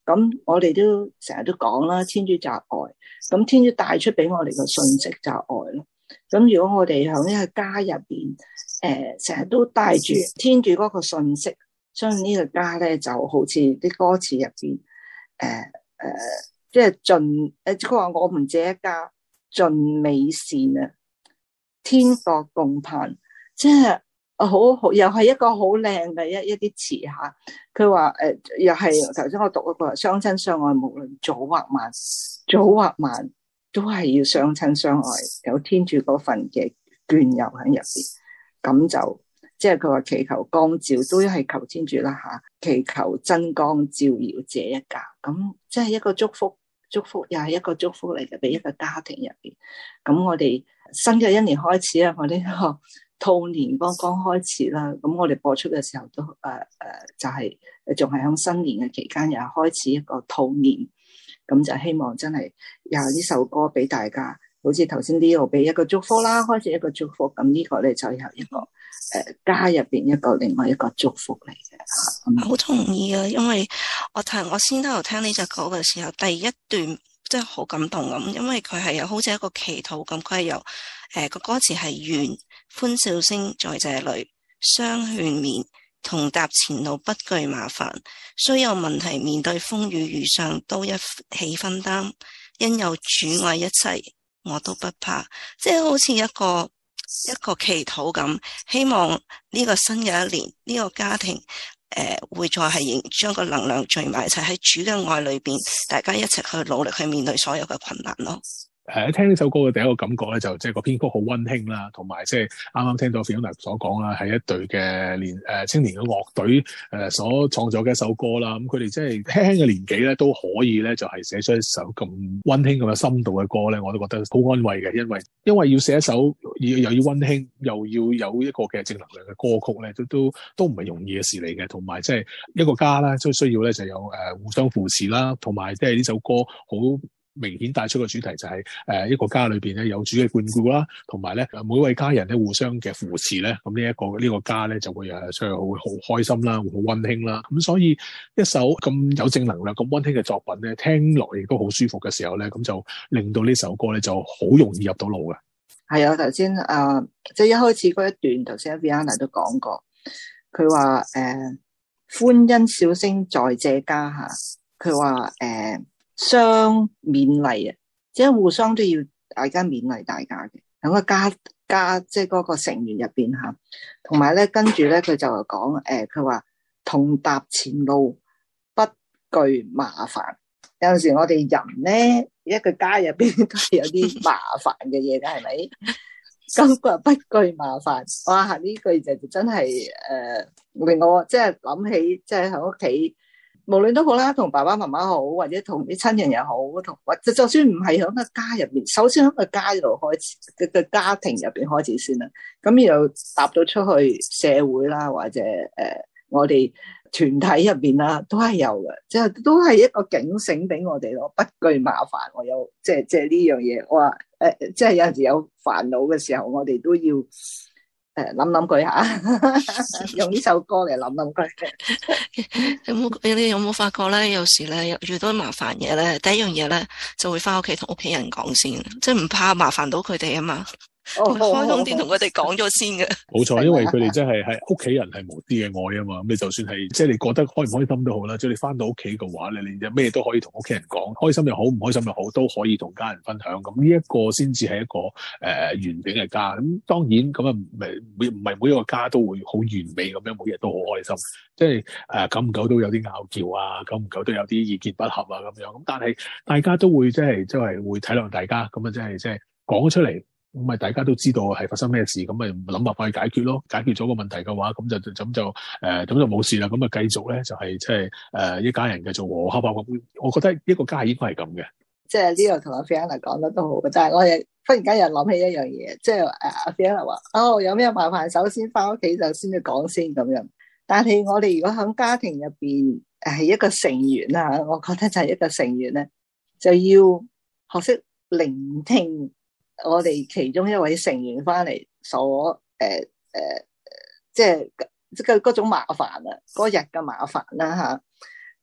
Speaker 8: 咁我哋都成日都講啦，天主就係愛，咁天主帶出俾我哋嘅信息就係愛咯。咁如果我哋喺呢個家入邊，誒成日都帶住天主嗰個信息，相信呢個家咧就好似啲歌詞入邊，誒、呃、誒，即係盡誒，佢話我們這一家盡美善啊，天國共盼，即係好好又係一個好靚嘅一一啲詞嚇。佢話誒，又係頭先我讀嗰個相親相愛，無論早或晚，早或晚都係要相親相愛，有天主嗰份嘅眷佑喺入邊，咁就即係佢話祈求光照，都係求天主啦嚇，祈求真光照耀這一家，咁即係一個祝福，祝福又係一個祝福嚟嘅，俾一個家庭入邊。咁我哋新嘅一年開始啊，我呢個兔年剛剛開始啦，咁我哋播出嘅時候都誒誒、呃呃，就係仲係喺新年嘅期間，又開始一個兔年，咁就希望真係有呢首歌俾大家，好似頭先呢度俾一個祝福啦，開始一個祝福，咁呢個咧就有一個誒、呃、家入邊一個另外一個祝福嚟嘅。
Speaker 7: 好同意啊，因為我聽我先頭聽呢隻歌嘅時候，第一段真係好感動咁，因為佢係有好似一個祈禱咁，佢係由誒個歌詞係願歡笑聲在這裏，相勸勉，同踏前路不懼麻煩，雖有問題面對風雨遇上都一起分擔，因有主愛一齊我都不怕，即係好似一個一個祈禱咁，希望呢個新嘅一年呢、這個家庭誒、呃、會再係將個能量聚埋一齊喺主嘅愛裏邊，大家一齊去努力去面對所有嘅困難咯。
Speaker 6: 誒，聽呢首歌嘅第一個感覺咧，就即係個編曲好溫馨啦，同埋即係啱啱聽到 Fiona 所講啦，係一隊嘅年誒青年嘅樂隊誒所創作嘅一首歌啦。咁佢哋即係輕輕嘅年紀咧，都可以咧就係寫出一首咁溫馨咁有深度嘅歌咧，我都覺得好安慰嘅。因為因為要寫一首又要溫馨，又要有一個嘅正能量嘅歌曲咧，都都都唔係容易嘅事嚟嘅。同埋即係一個家咧，都需要咧就有誒互相扶持啦，同埋即係呢首歌好明顯帶出個主題就係誒一個家裏邊咧有主嘅眷顧啦，同埋咧每位家人咧互相嘅扶持咧，咁呢一個呢個家咧就會誒所以會好開心啦，會好溫馨啦。咁所以一首咁有正能量、咁溫馨嘅作品咧，聽落亦都好舒服嘅時候咧，咁就令到呢首歌咧就好容易入到腦嘅。
Speaker 8: 係啊，頭先誒即係一開始嗰一段，頭先 Viana 都講過，佢話誒歡欣笑聲在這家嚇，佢話誒。相勉勵啊，即係互相都要大家勉勵大家嘅，喺個家家即係嗰個成員入邊吓，同埋咧跟住咧佢就講誒，佢話同踏前路不懼麻煩。有陣時我哋人咧一個家入邊都係有啲麻煩嘅嘢嘅，係咪？咁佢話不懼麻煩，哇！呢句就真係誒、呃、令我即係諗起，即係喺屋企。無論都好啦，同爸爸媽媽好，或者同啲親人又好，同或者就算唔係喺個家入面，首先喺個家度開始嘅嘅家庭入邊開始先啦。咁然後踏到出去社會啦，或者誒、呃、我哋團體入邊啦，都係有嘅，即係都係一個警醒俾我哋咯。不懼麻煩，我有即係即係呢樣嘢。我話誒，即係有陣時有煩惱嘅時候，我哋都要。誒，諗諗佢吓，用呢首歌嚟諗諗佢。
Speaker 7: 有冇你哋有冇發覺咧？有時咧遇到麻煩嘢咧，第一樣嘢咧就會翻屋企同屋企人講先，即係唔怕麻煩到佢哋啊嘛。
Speaker 8: 哦、
Speaker 7: 開通電同佢哋講咗先嘅。
Speaker 6: 冇錯，因為佢哋真係係屋企人係無私嘅愛啊嘛。咁你就算係即係你覺得開唔開心都好啦，即係你翻到屋企嘅話咧，你咩都可以同屋企人講，開心又好，唔開心又好，都可以同家人分享。咁呢一個先至係一個誒、呃、完整嘅家。咁當然咁啊，唔係每唔係每一個家都會好完美咁樣，每日都好開心。即係誒久唔久都有啲拗撬啊，久唔久都有啲意見不合啊咁樣。咁但係大家都會即係即係會體諒大家，咁啊即係即係講出嚟。咁咪大家都知道係發生咩事，咁咪諗辦法去解決咯。解決咗個問題嘅話，咁就咁就誒，咁、呃、就冇事啦。咁啊，繼續咧就係即係誒一家人繼續和和合合咁。我覺得一個家應該係咁嘅。
Speaker 8: 即係呢度同阿 Fiona 講得都好嘅，但係我又忽然間又諗起一樣嘢，即係誒阿 Fiona 話哦，有咩麻煩首先翻屋企就先去講先咁樣。但係我哋如果喺家庭入邊係一個成員啊，我覺得就係一個成員咧，就要學識聆聽。我哋其中一位成員翻嚟所誒誒、呃呃，即係即係嗰種麻煩啊，嗰日嘅麻煩啦嚇。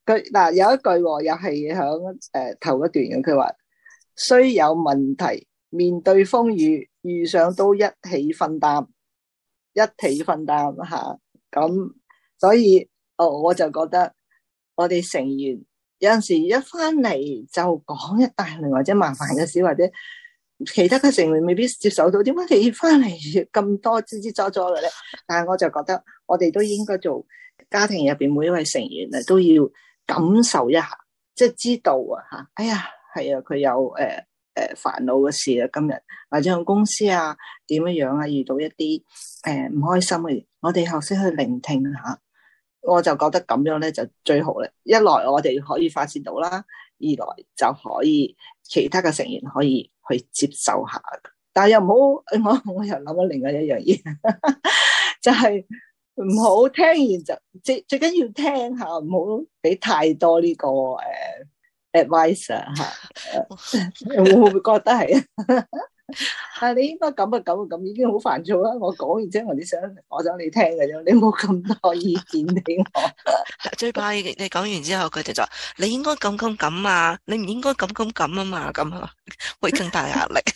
Speaker 8: 佢嗱有一句喎又係響誒頭一段嘅，佢話雖有問題，面對風雨，遇上都一起分擔，一起分擔吓。咁、啊、所以哦，我就覺得我哋成員有陣時一翻嚟就講一大輪或者麻煩嘅事，或者其他嘅成員未必接受到，點解你翻嚟咁多吱吱喳喳嘅咧？但係我就覺得我哋都應該做家庭入邊每一位成員啊，都要感受一下，即係知道啊吓，哎呀係啊，佢有誒誒煩惱嘅事啊，今日或者喺公司啊點樣樣啊，遇到一啲誒唔開心嘅嘢，我哋學識去聆聽下，我就覺得咁樣咧就最好咧。一來我哋可以發洩到啦，二來就可以其他嘅成員可以去接受下，但係又唔好，我我又諗咗另外一樣嘢，就係唔好聽完就最最緊要聽下，唔好俾太多呢、這個誒、uh, advice 吓，會唔會覺得係啊？但係你應該咁啊咁啊咁，已經好煩躁啦。我講完之後，我哋想我想你聽嘅啫，你冇咁多意見俾我。
Speaker 7: 最怕你講完之後，佢哋就話你應該咁咁咁啊，你唔應該咁咁咁啊嘛，咁啊會更大壓力。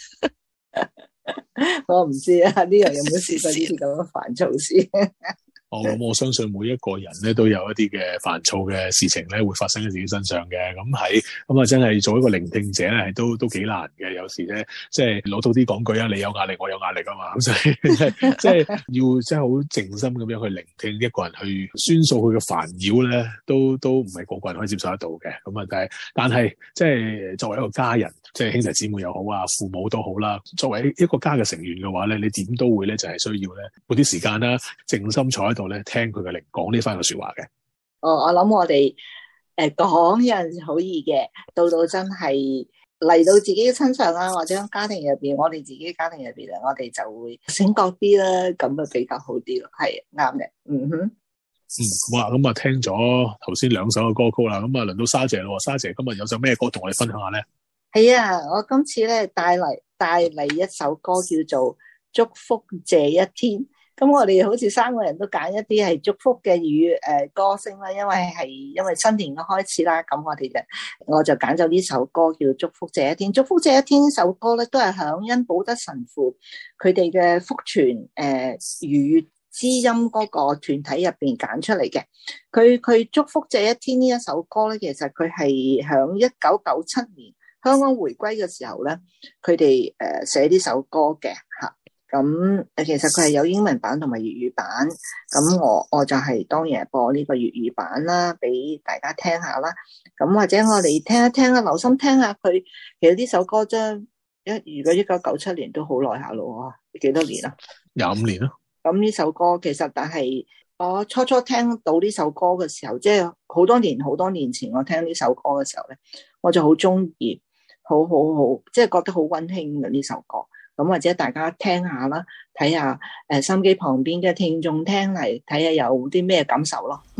Speaker 8: 我唔知啊，呢樣有冇試過呢啲咁嘅煩躁事？
Speaker 6: 哦，咁我相信每一個人咧都有一啲嘅煩躁嘅事情咧會發生喺自己身上嘅。咁喺咁啊，真係做一個聆聽者咧，係都都幾難嘅。有時咧，即係老土啲講句啊，你有壓力，我有壓力啊嘛。咁所以即係要真係好靜心咁樣去聆聽一個人去宣訴佢嘅煩擾咧，都都唔係個個人可以接受得到嘅。咁啊，但係但係即係作為一個家人，即係兄弟姊妹又好啊，父母都好啦。作為一個家嘅成員嘅話咧，你點都會咧就係需要咧撥啲時間啦，靜心坐喺度咧聽佢嘅靈講呢番嘅說話嘅。
Speaker 8: 哦，我諗我哋誒講有陣時好易嘅，到到真係嚟到自己嘅身上啦，或者家庭入邊，我哋自己家庭入邊啊，我哋就會醒覺啲啦，咁啊比較好啲咯，係啱嘅。嗯哼，
Speaker 6: 嗯，好啊，咁啊聽咗頭先兩首嘅歌曲啦，咁啊輪到沙姐咯，沙姐今日有首咩歌同我哋分享下咧？
Speaker 8: 係啊，我今次咧帶嚟帶嚟一首歌叫做《祝福這一天》。咁我哋好似三個人都揀一啲係祝福嘅語誒歌聲啦，因為係因為新年嘅開始啦，咁我哋就我就揀咗呢首歌叫《祝福這一天》。祝福這一天呢首歌咧，都係響恩保德神父佢哋嘅福傳誒粵之音嗰個團體入邊揀出嚟嘅。佢佢祝福這一天呢一首歌咧，其實佢係響一九九七年香港回歸嘅時候咧，佢哋誒寫呢首歌嘅吓。咁誒，其實佢係有英文版同埋粵語版，咁我我就係當然係播呢個粵語版啦，俾大家聽下啦。咁或者我哋聽一聽啊，留心聽下佢。其實呢首歌真一如果一九九七年都好耐下咯，幾多年啊？
Speaker 6: 廿五年咯。
Speaker 8: 咁呢首歌其實，但係我初初聽到呢首歌嘅時候，即係好多年好多年前我聽呢首歌嘅時候咧，我就好中意，好好好，即係覺得好溫馨嘅呢首歌。咁或者大家聽下啦，睇下誒收音機旁邊嘅聽眾聽嚟，睇下有啲咩感受咯。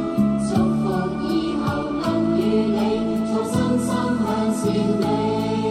Speaker 1: 祝福以後能與你，重新心向善美。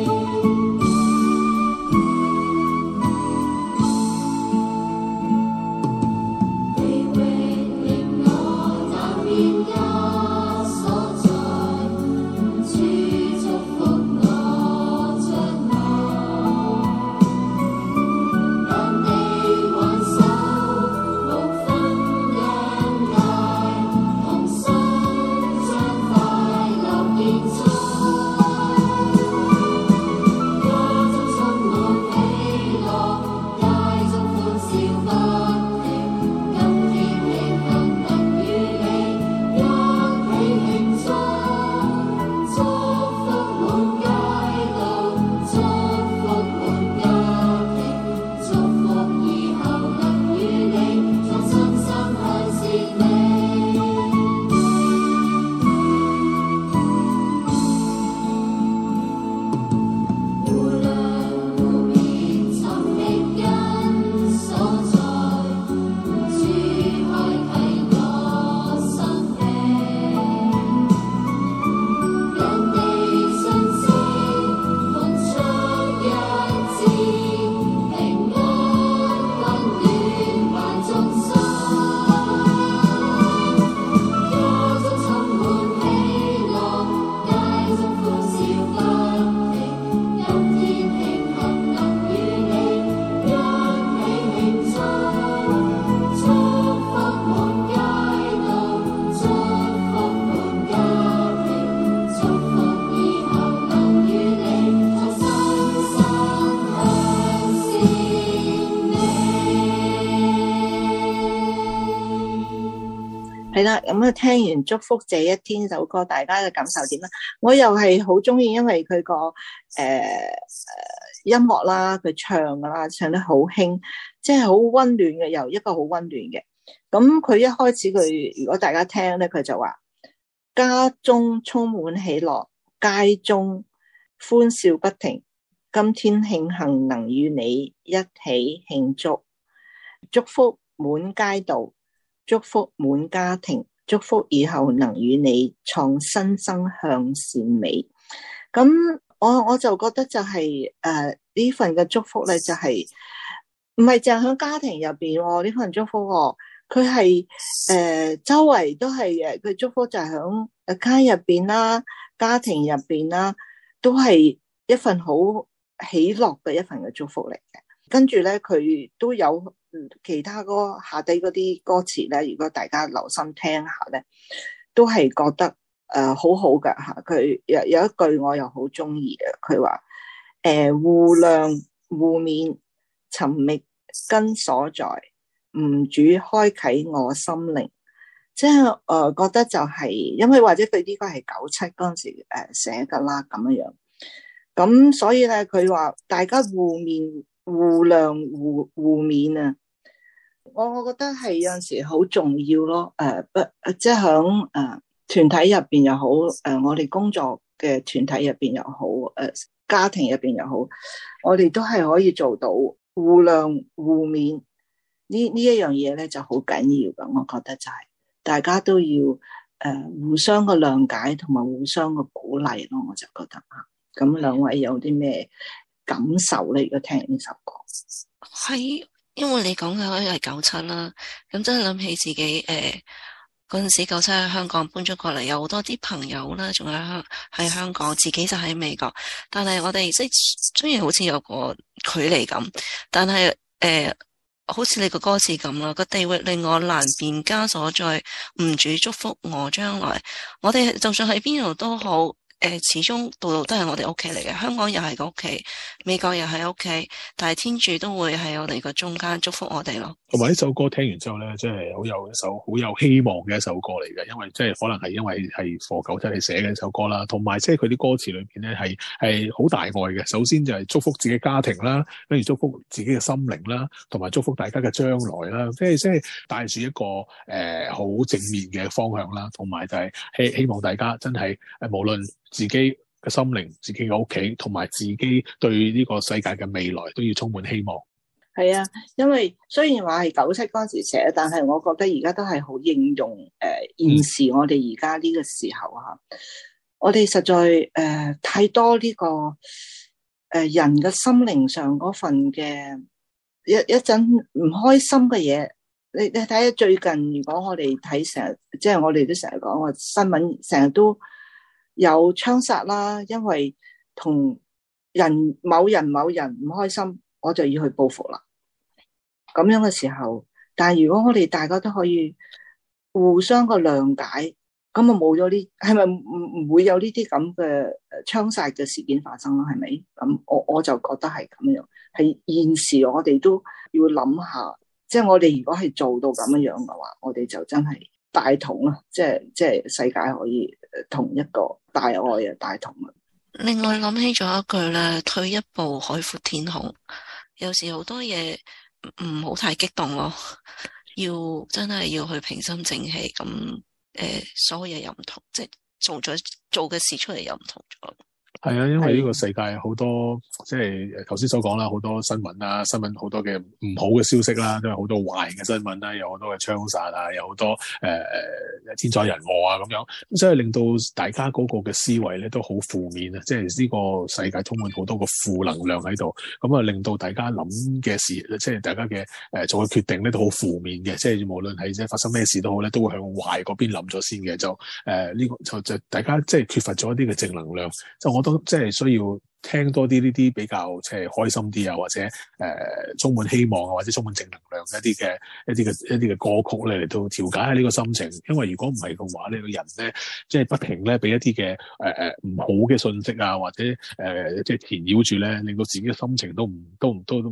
Speaker 8: 係啦，咁啊聽完祝福這一天首歌，大家嘅感受點咧？我又係好中意，因為佢個誒誒音樂啦，佢唱噶啦，唱得好輕，即係好溫暖嘅，又一個好溫暖嘅。咁佢一開始佢如果大家聽咧，佢就話家中充滿喜樂，街中歡笑不停，今天慶幸能與你一起慶祝，祝福滿街道，祝福滿家庭，祝福以後能與你創新生向善美。咁我我就覺得就係誒呢份嘅祝福咧，就係唔係淨係喺家庭入邊呢份祝福，佢係誒周圍都係誒佢祝福就係喺誒街入邊啦，家庭入邊啦，都係一份好喜樂嘅一份嘅祝福嚟嘅。跟住咧，佢都有其他歌下底嗰啲歌詞咧，如果大家留心聽下咧，都係覺得誒、呃、好好噶吓。佢有有一句我又好中意嘅，佢話誒互諒互勉，尋覓根所在，吾主開啟我心靈。即係誒、呃、覺得就係、是，因為或者佢呢個係九七嗰陣時誒寫噶啦咁樣樣。咁所以咧，佢話大家互勉。互諒互互勉啊！我我覺得係有陣時好重要咯。誒、呃，不即係響誒團體入邊又好，誒、呃、我哋工作嘅團體入邊又好，誒、呃、家庭入邊又好，我哋都係可以做到互諒互勉。呢呢一樣嘢咧就好緊要噶。我覺得就係、是、大家都要誒、呃、互相嘅諒解同埋互相嘅鼓勵咯。我就覺得啊，咁兩位有啲咩感受咧？如果聽呢首歌，
Speaker 7: 係因為你講嘅可以係九七啦，咁真係諗起自己誒嗰陣時九七喺香港搬咗過嚟，有好多啲朋友啦，仲喺香喺香港，自己就喺美國，但係我哋即係雖然好似有個距離咁，但係誒、呃、好似你個歌詞咁啦，個地域令我難辨家所在，吾主祝福我將來，我哋就算喺邊度都好。誒，始終度度都係我哋屋企嚟嘅，香港又係個屋企，美國又係屋企，但係天主都會喺我哋個中間祝福我哋咯。
Speaker 6: 同埋呢首歌聽完之後咧，即係好有一首好有希望嘅一首歌嚟嘅，因為即係可能係因為係賀九七嚟寫嘅一首歌啦，同埋即係佢啲歌詞裏邊咧係係好大愛嘅。首先就係祝福自己家庭啦，跟住祝福自己嘅心靈啦，同埋祝福大家嘅將來啦，即係即係帶住一個誒好、呃、正面嘅方向啦，同埋就係希希望大家真係誒無論自己嘅心靈、自己嘅屋企，同埋自己對呢個世界嘅未來都要充滿希望。
Speaker 8: 係啊，因為雖然話係九七嗰陣時寫，但係我覺得而家都係好應用。誒、呃，現時我哋而家呢個時候吓，嗯、我哋實在誒、呃、太多呢、這個誒、呃、人嘅心靈上嗰份嘅一一陣唔開心嘅嘢。你你睇下最近，如果我哋睇成日，即係我哋都成日講話新聞，成日都有槍殺啦，因為同人某人某人唔開心，我就要去報復啦。咁樣嘅時候，但係如果我哋大家都可以互相個諒解，咁啊冇咗呢，係咪唔唔會有呢啲咁嘅槍殺嘅事件發生咯？係咪？咁我我就覺得係咁樣，係現時我哋都要諗下，即係我哋如果係做到咁樣樣嘅話，我哋就真係大同啊！即係即係世界可以同一個大愛啊，大同啊！
Speaker 7: 另外諗起咗一句咧，退一步海闊天空。有時好多嘢唔好太激動咯，要真係要去平心靜氣咁。誒、呃，所有嘢又唔同，即係做咗做嘅事出嚟又唔同咗。
Speaker 6: 係啊，因為呢個世界好多即係頭先所講啦，好多新聞啦，新聞好多嘅唔好嘅消息啦，都係好多壞嘅新聞啦，有好多嘅槍殺啊，有好多誒誒、呃、天災人禍啊咁樣，咁所以令到大家嗰個嘅思維咧都好負面啊，即係呢個世界充滿好多個負能量喺度，咁啊令到大家諗嘅事，即係大家嘅誒、呃、做嘅決定咧都好負面嘅，即係無論係即係發生咩事都好咧，都會向壞嗰邊諗咗先嘅，就誒呢、呃這個就就大家即係缺乏咗一啲嘅正能量，就我都即係需要聽多啲呢啲比較即係開心啲啊，或者誒、呃、充滿希望啊，或者充滿正能量一啲嘅一啲嘅一啲嘅歌曲咧嚟到調解下呢個心情。因為如果唔係嘅話，呢個人咧即係不停咧俾一啲嘅誒誒唔好嘅信息啊，或者誒、呃、即係纏繞住咧，令到自己嘅心情都唔都唔都都唔得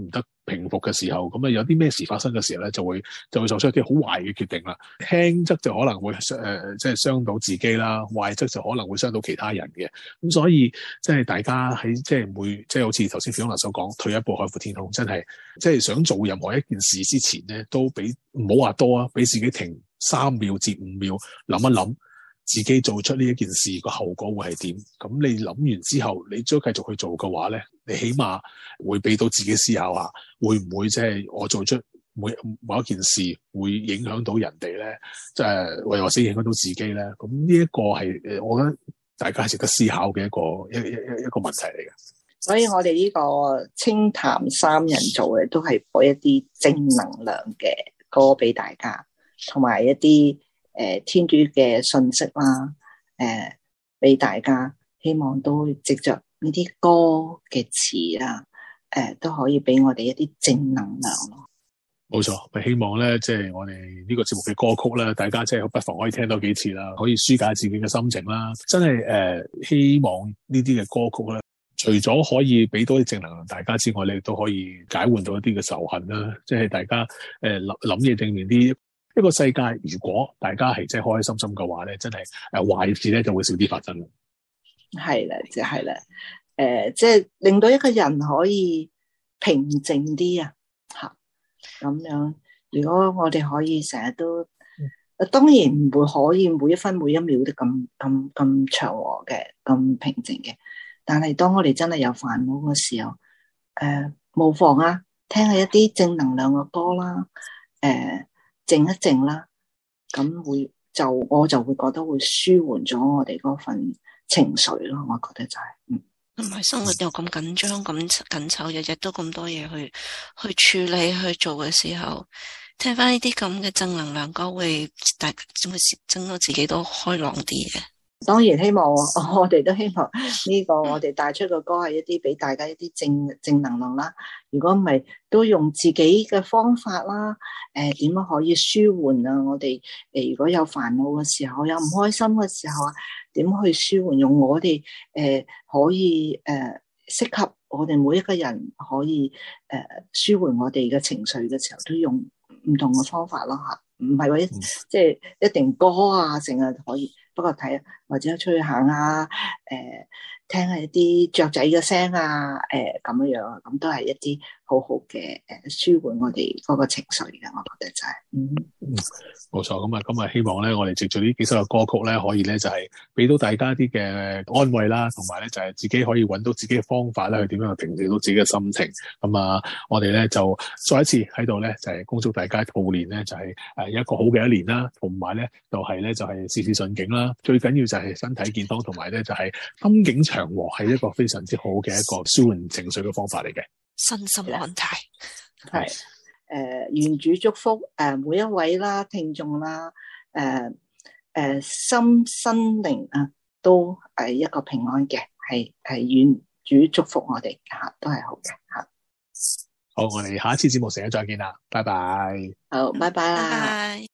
Speaker 6: 平復嘅時候，咁啊有啲咩事發生嘅時候咧，就會就會做出一啲好壞嘅決定啦。輕則就可能會誒、呃、即係傷到自己啦，壞則就可能會傷到其他人嘅。咁所以即係大家喺即係每即係好似頭先 Fiona 所講，退一步海闊天空，真係即係想做任何一件事之前咧，都俾唔好話多啊，俾自己停三秒至五秒諗一諗。自己做出呢一件事個後果會係點？咁你諗完之後，你再繼續去做嘅話咧，你起碼會俾到自己思考下，會唔會即係我做出每某一件事會影響到人哋咧？即係或或者影響到自己咧？咁呢一個係誒，我覺得大家係值得思考嘅一個一一一一個問題嚟嘅。
Speaker 8: 所以我哋呢個清談三人組嘅都係播一啲正能量嘅歌俾大家，同埋一啲。誒天主嘅信息啦，誒俾大家，希望都藉着呢啲歌嘅詞啊，誒都可以俾我哋一啲正能量咯。
Speaker 6: 冇錯，咪希望咧，即係我哋呢個節目嘅歌曲咧，大家即係不妨可以聽多幾次啦，可以紓解自己嘅心情啦。真係誒，希望呢啲嘅歌曲咧，除咗可以俾多啲正能量大家之外，你都可以解換到一啲嘅仇恨啦。即係大家誒諗諗嘢正面啲。呢個世界，如果大家係真係開開心心嘅話咧，真係誒壞事咧就會少啲發生。
Speaker 8: 係啦，就係啦，誒，即係令到一個人可以平靜啲啊，吓咁樣。如果我哋可以成日都，當然唔會可以每一分每一秒都咁咁咁祥和嘅，咁平靜嘅。但係當我哋真係有煩惱嘅時候，誒、呃，無妨啊，聽下一啲正能量嘅歌啦，誒、呃。靜一靜啦，咁會就我就會覺得會舒緩咗我哋嗰份情緒咯。我覺得就係、是，嗯，
Speaker 7: 唔係生活又咁緊張咁緊湊，日日都咁多嘢去去處理去做嘅時候，聽翻呢啲咁嘅正能量歌，會大會整到自己都開朗啲嘅。
Speaker 8: 當然希望我哋都希望呢個我哋帶出嘅歌係一啲俾大家一啲正正能量啦。如果唔係，都用自己嘅方法啦。誒、呃，點樣可以舒緩啊？我哋誒、呃，如果有煩惱嘅時候，有唔開心嘅時候啊，點去舒緩？用我哋誒、呃、可以誒適、呃、合我哋每一個人可以誒、呃、舒緩我哋嘅情緒嘅時候，都用唔同嘅方法咯吓。唔係話即係一定歌啊，成日可以。不過睇或者出去行啊，誒、呃，聽下一啲雀仔嘅聲啊，誒、呃，咁樣樣啊，咁都係一啲好好嘅誒舒緩我哋嗰個情緒嘅，我覺得就係、是，嗯，
Speaker 6: 冇錯。咁啊，咁啊，希望咧，我哋藉住呢幾首嘅歌曲咧，可以咧就係俾到大家啲嘅安慰啦，同埋咧就係自己可以揾到自己嘅方法咧，去點樣去平靜到自己嘅心情。咁啊，我哋咧就再一次喺度咧，就係恭祝大家兔年咧就係誒一個好嘅一年啦，同埋咧就係咧就係事事順境啦。最緊要就係身體健康，同埋咧就係心境祥和，係一個非常之好嘅一個舒緩情緒嘅方法嚟嘅。
Speaker 7: 身心安泰
Speaker 8: 係誒，願主祝福誒、呃、每一位啦聽眾啦，誒、呃、誒、呃、心身靈啊都係一個平安嘅，係係願主祝福我哋吓，都係好嘅吓。
Speaker 6: 好，我哋下一次節目時間再見啦，拜拜。
Speaker 8: 好，拜拜啦。
Speaker 7: 拜拜。